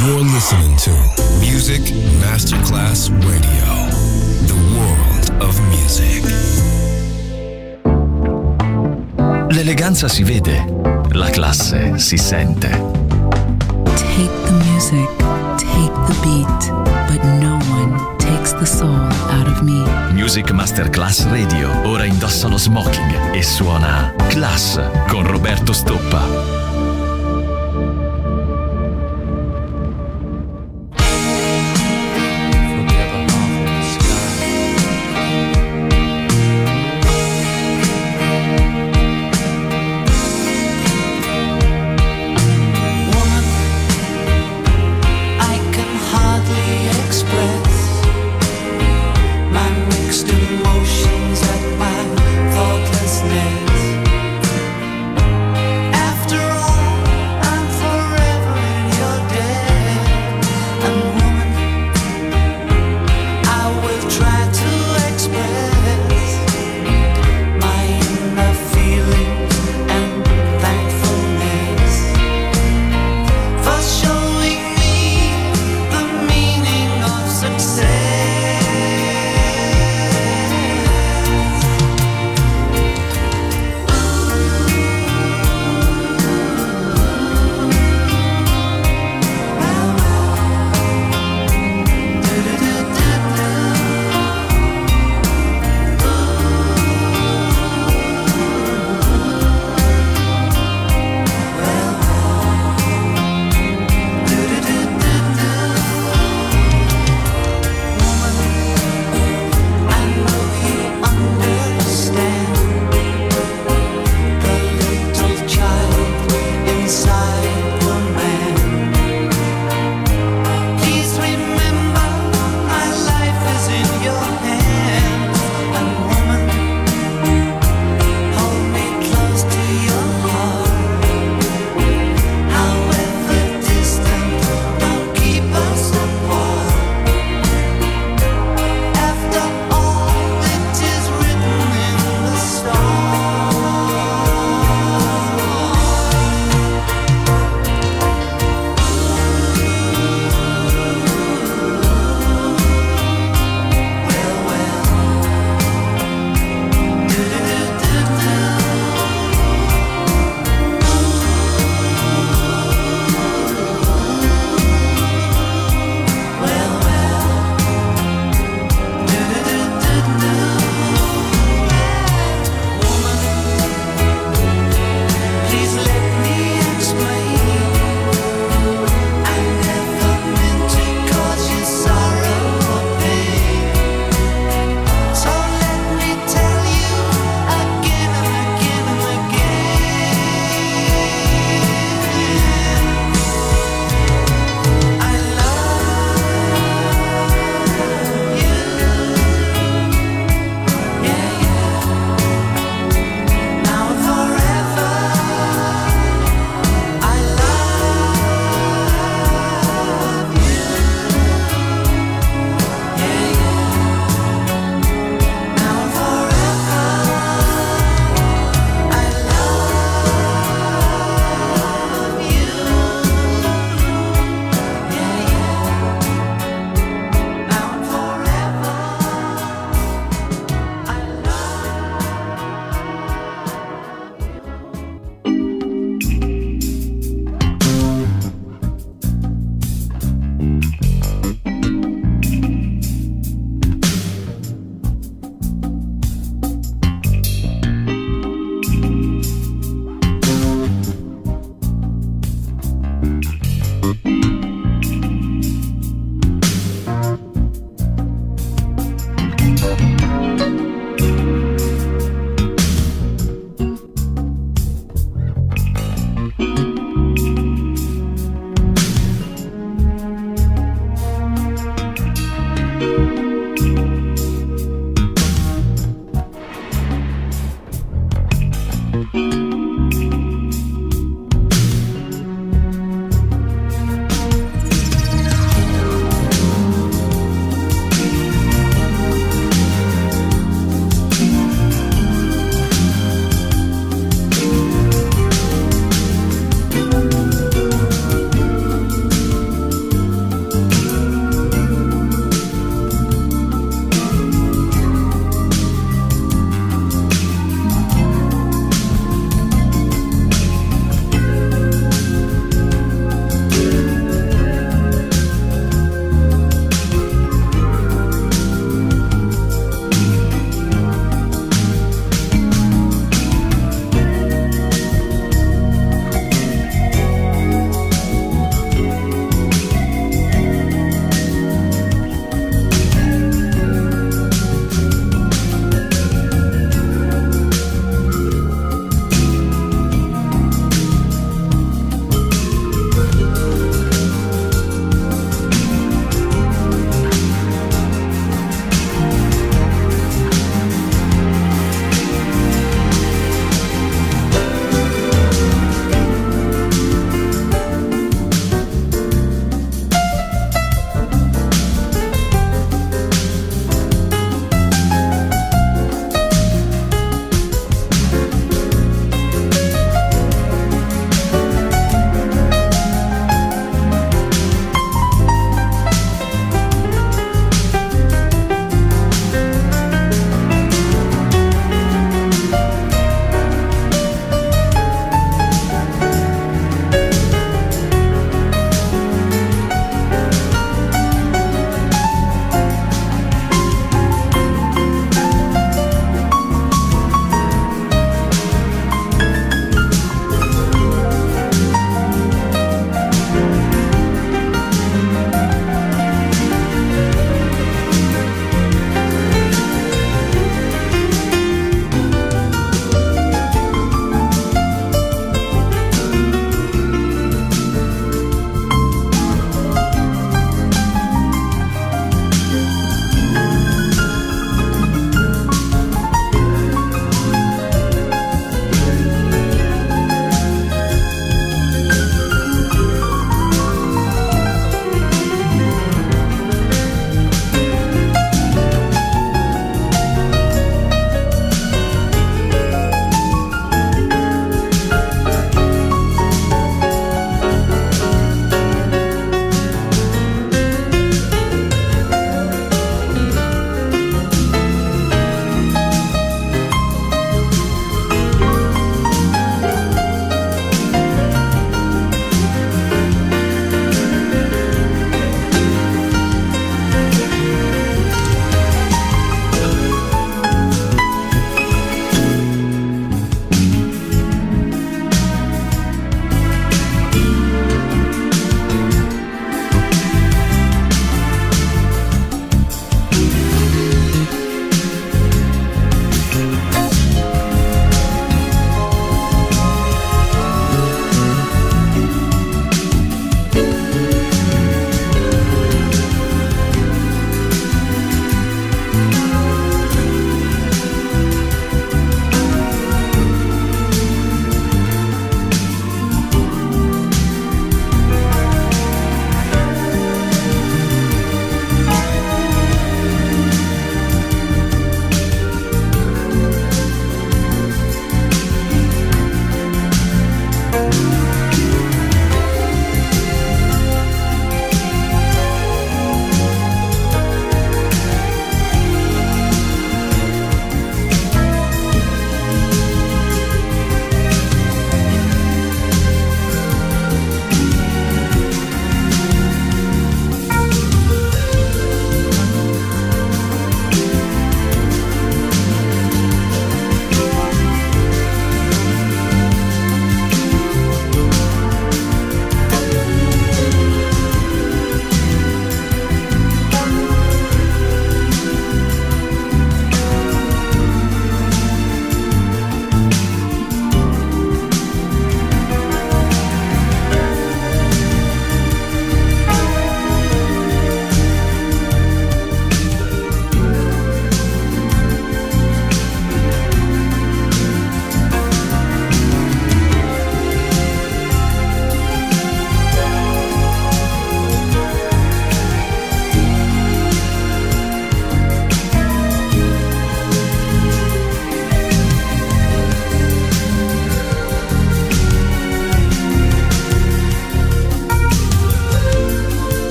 You're listening to Music Masterclass Radio, the world of music. L'eleganza si vede, la classe si sente. Take the music, take the beat, but no one takes the soul out of me. Music Masterclass Radio ora indossa lo smoking e suona Class con Roberto Stoppa. After all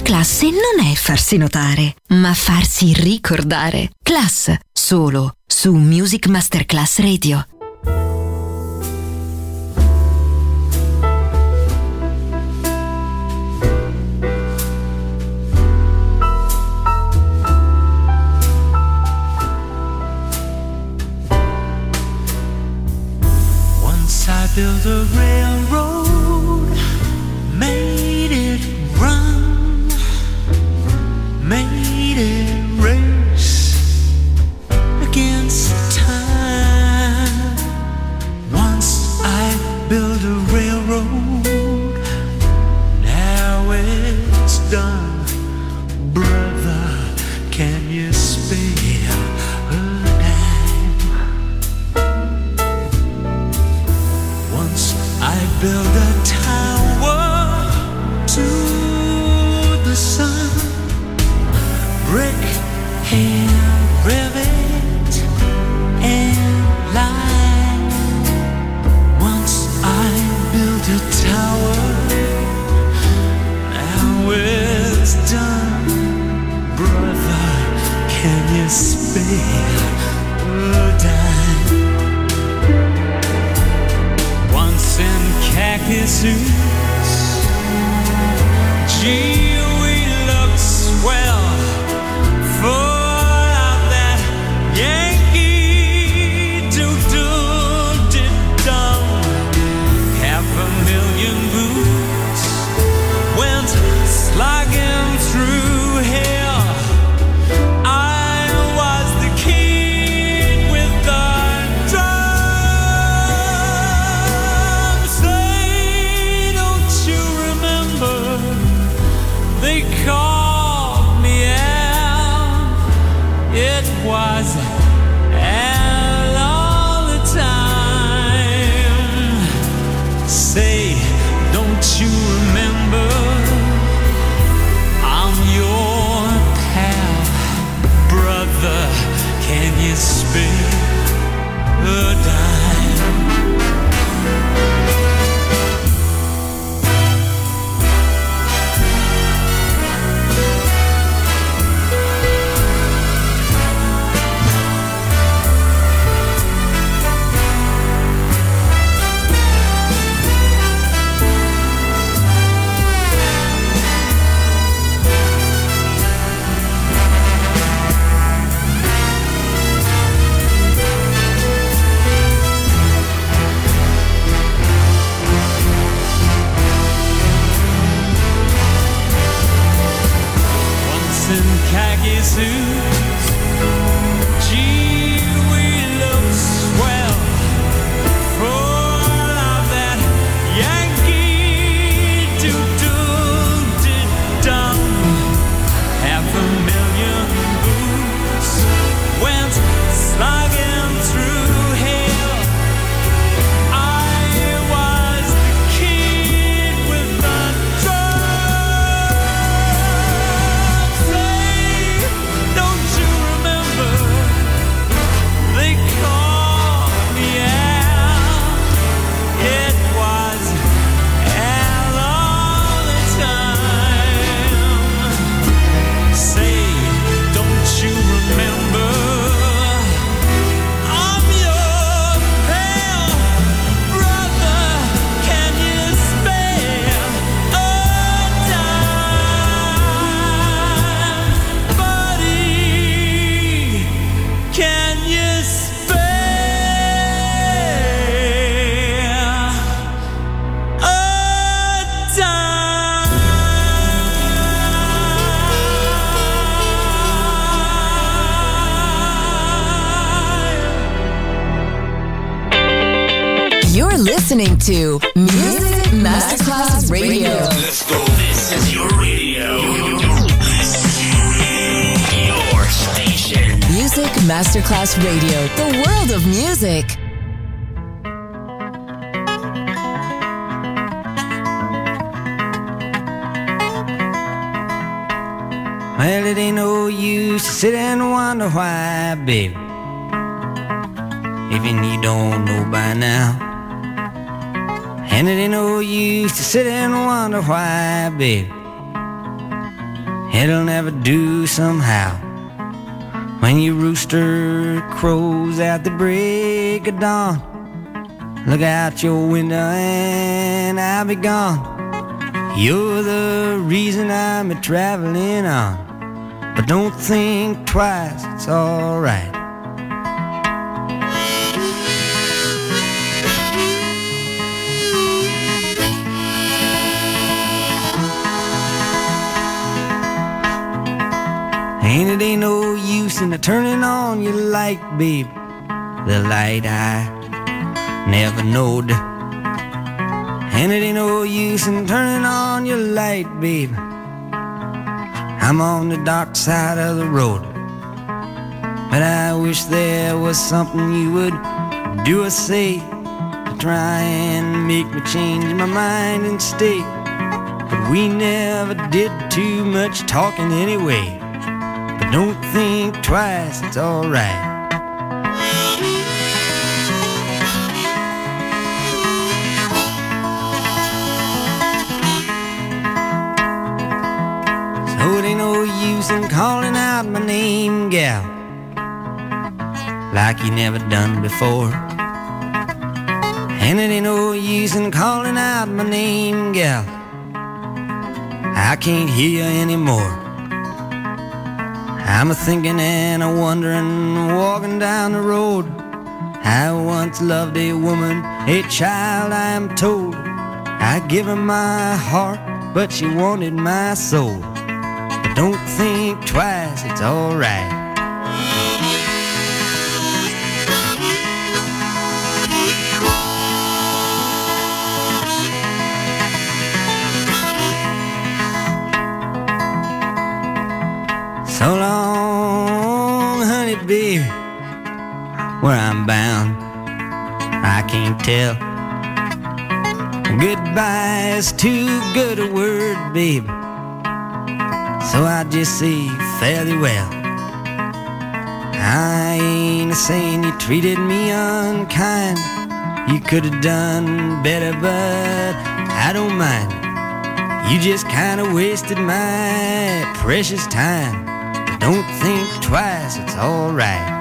Class non è farsi notare, ma farsi ricordare. Class, solo su Music Masterclass Radio. Once I built a railroad, made it run, made it race against time. Once I built a railroad, now it's done. Brother, can you spare a dime? Once I built a tower to the sun, brick and rivet and line. Once I built a tower, now it's done. Brother, can you spare a dime? Once in khaki suits, gee, we looked swell, full of that Yankee do-do-did-dum. 500,000 boots went slogging through hell. I was the kid with the drum. Say, don't you remember they called me out? It was Al all the time. Say, don't you remember I'm your pal? Brother, can you spare a dime? Once in khaki suits, gee, we look swell, full of that Yankee do-do-did-dum. 500,000 boots went slogging through hell. I was the kid with the drum. Say, don't you remember they called me out? It was Al all the time. Say, don't you remember I'm your pal? Brother, can you spare a dime? Buddy, can you spare a dime? You're listening to Music Masterclass Radio. Let's go. This is your radio. Your station. Music Masterclass Radio, the world of music. Well, it ain't no use to sit and wonder why, baby, even you don't know by now. And it ain't no use to sit and wonder why, baby, it'll never do somehow. When your rooster crows at the break of dawn, look out your window and I'll be gone. You're the reason I'm a-traveling on, but don't think twice, it's alright. And it ain't no use in turning on your light, babe, the light I never knowed. And it ain't no use in turning on your light, babe, I'm on the dark side of the road. But I wish there was something you would do or say to try and make me change my mind and stay. But we never did too much talking anyway. But don't think twice, it's alright. So it ain't no use in calling out my name, gal, like you never done before. And it ain't no use in calling out my name, gal, I can't hear you anymore. I'm a-thinking and a-wondering, walking down the road. I once loved a woman, a child I am told. I give her my heart, but she wanted my soul. But don't think twice, it's alright. So long, honey, baby, where I'm bound, I can't tell. Goodbye is too good a word, babe, so I just say fare thee well. I ain't saying you treated me unkind, you could have done better, but I don't mind. You just kind of wasted my precious time. Don't think twice, it's alright.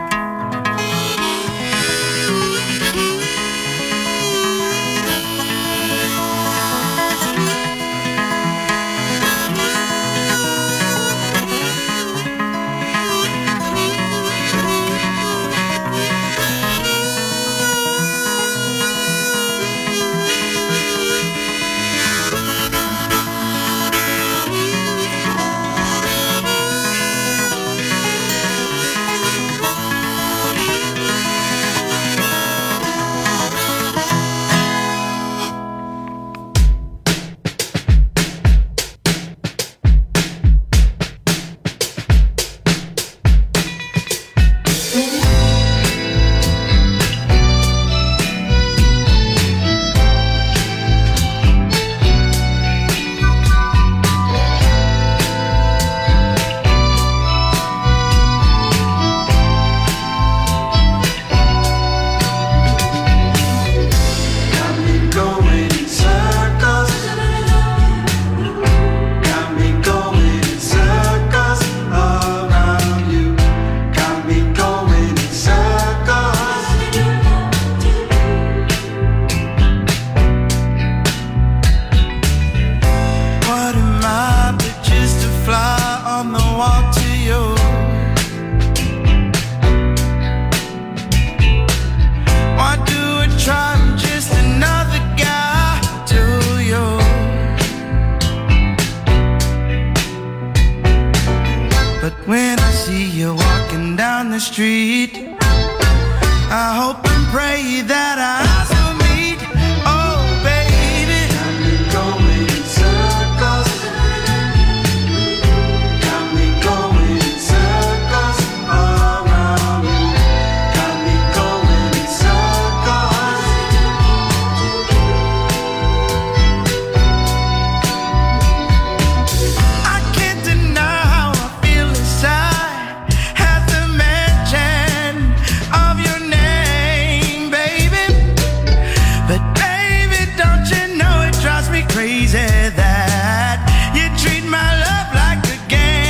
Crazy that you treat my love like a game.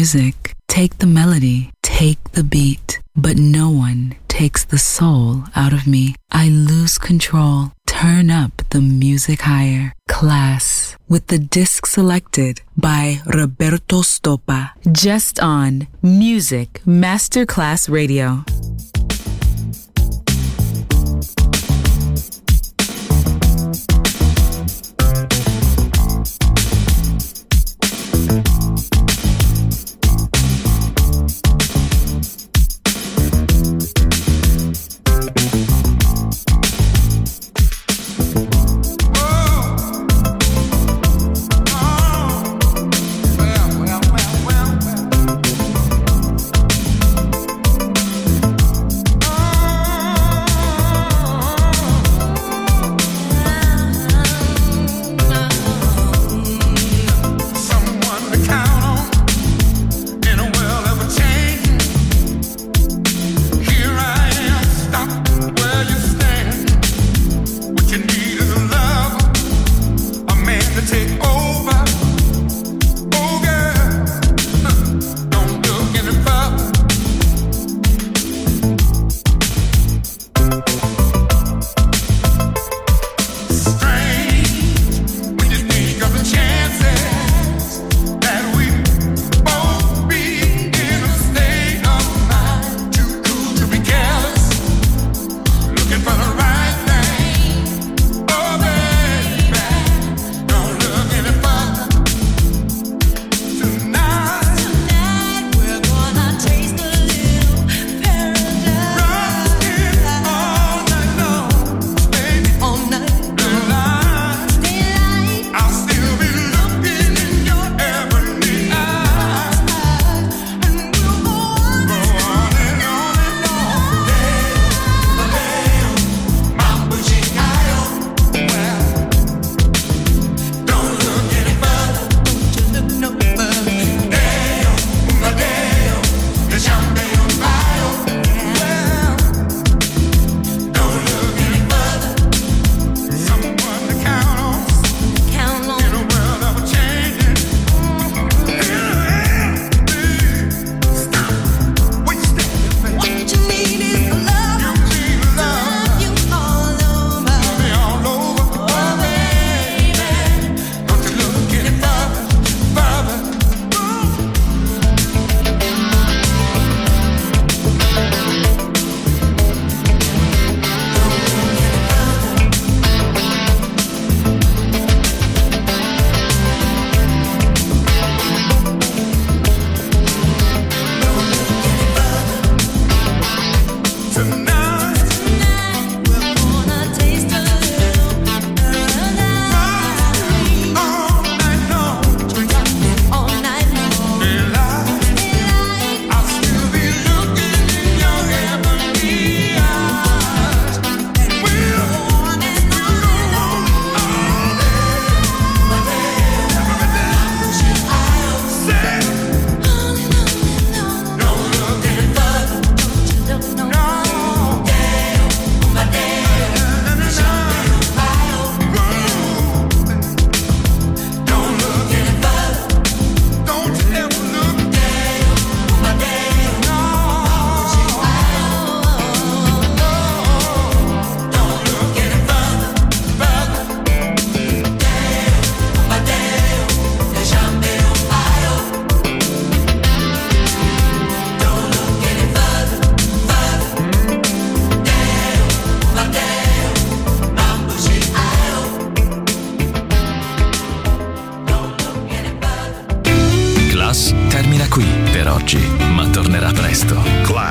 music, take the melody, take the beat, but no one takes the soul out of me. I lose control. Turn up the music higher. Class, with the disc selected by Roberto Stoppa. Just on Music Masterclass Radio.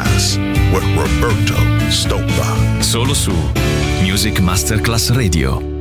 Solo su Music Masterclass Radio.